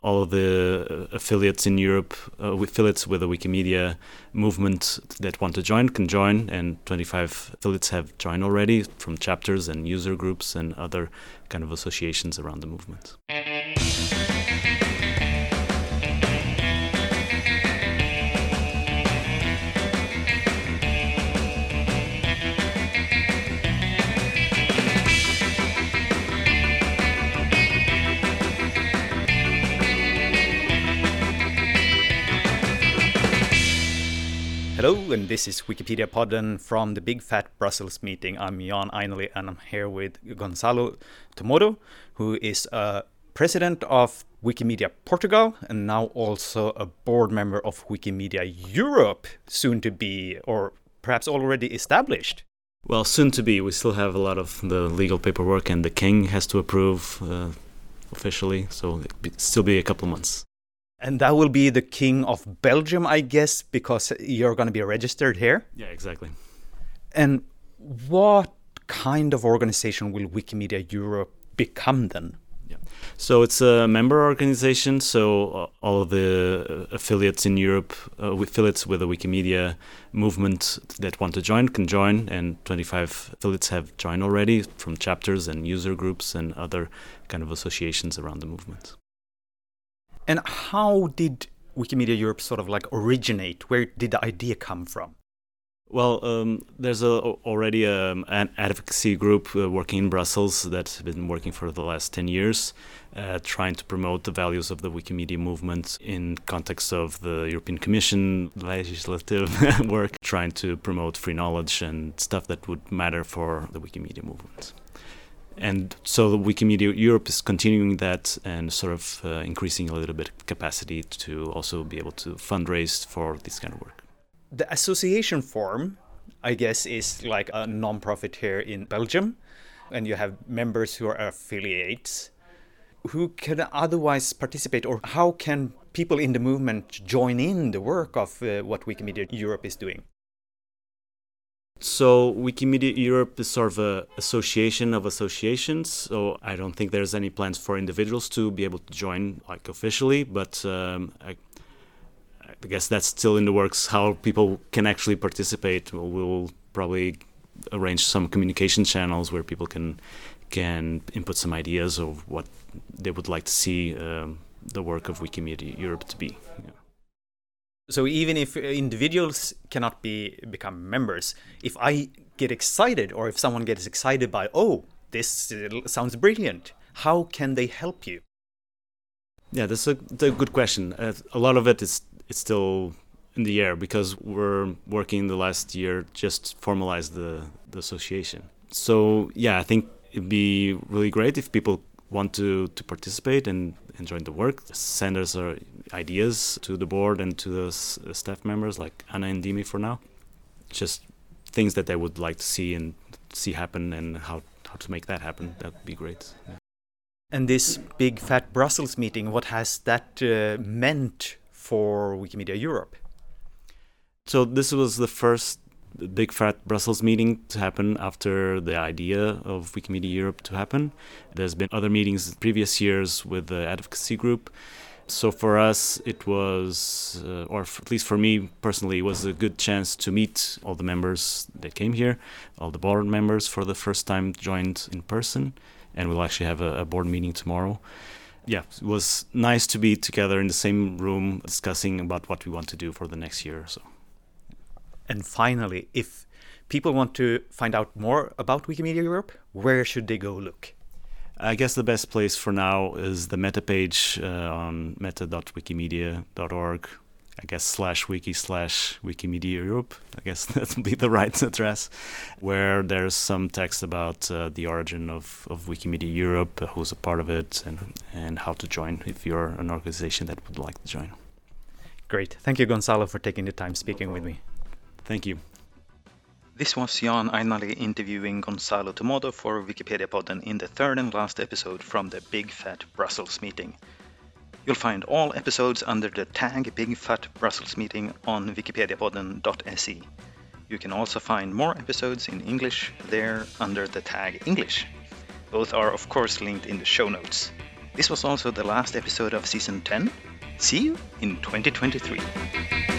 all of the affiliates in Europe, affiliates with the Wikimedia movement that want to join can join, and 25 affiliates have joined already from chapters and user groups and other kind of associations around the movement. Hello, and this is Wikipedia Podden from the Big Fat Brussels meeting. I'm Jan Ainali, and I'm here with Gonçalo Tomodo, who is president of Wikimedia Portugal and now also a board member of Wikimedia Europe, soon to be, or perhaps already established. Well, soon to be. We still have a lot of the legal paperwork, and the king has to approve officially, so it'll still be a couple months. And that will be the King of Belgium, I guess, because you're going to be registered here? Yeah, exactly. And what kind of organization will Wikimedia Europe become then? Yeah. So it's a member organization, so all of the affiliates in Europe, affiliates with the Wikimedia movement that want to join can join, and 25 affiliates have joined already from chapters and user groups and other kind of associations around the movement. And how did Wikimedia Europe sort of like originate? Where did the idea come from? Well, there's already an advocacy group working in Brussels that's been working for the last 10 years, trying to promote the values of the Wikimedia movement in context of the European Commission legislative work, trying to promote free knowledge and stuff that would matter for the Wikimedia movement. And so the Wikimedia Europe is continuing that and sort of increasing a little bit capacity to also be able to fundraise for this kind of work. The association form, I guess, is like a non-profit here in Belgium, and you have members who are affiliates. Who can otherwise participate, or how can people in the movement join in the work of what Wikimedia Europe is doing? So Wikimedia Europe is sort of an association of associations, so I don't think there's any plans for individuals to be able to join like officially, but I guess that's still in the works how people can actually participate. We'll probably arrange some communication channels where people can input some ideas of what they would like to see the work of Wikimedia Europe to be. Yeah. So even if individuals cannot become members, if I get excited, or if someone gets excited by, this sounds brilliant, how can they help you? Yeah, that's a good question. A lot of it is still in the air because we're working the last year just formalize the association. So yeah, I think it'd be really great if people want to participate and join the work. Send us ideas to the board and to the staff members like Anna and Dimi for now. Just things that they would like to see happen and how to make that happen. That would be great. Yeah. And this Big Fat Brussels meeting, what has that meant for Wikimedia Europe? So this was the first Big Fat Brussels meeting to happen after the idea of Wikimedia Europe to happen. There's been other meetings in previous years with the advocacy group. So for us, it was, at least for me personally, it was a good chance to meet all the members that came here, all the board members for the first time joined in person, and we'll actually have a board meeting tomorrow. Yeah, it was nice to be together in the same room discussing about what we want to do for the next year or so. And finally, if people want to find out more about Wikimedia Europe, where should they go look? I guess the best place for now is the meta page on meta.wikimedia.org. I guess /wiki/Wikimedia Europe. I guess that would be the right address, where there's some text about the origin of Wikimedia Europe, who's a part of it, and how to join if you're an organization that would like to join. Great. Thank you, Gonçalo, for taking the time speaking with me. Thank you. This was Jan Ainali interviewing Gonçalo Tomodo for Wikipedia Podden in the third and last episode from the Big Fat Brussels meeting. You'll find all episodes under the tag Big Fat Brussels meeting on wikipediapodden.se. You can also find more episodes in English there under the tag English. Both are of course linked in the show notes. This was also the last episode of Season 10. See you in 2023.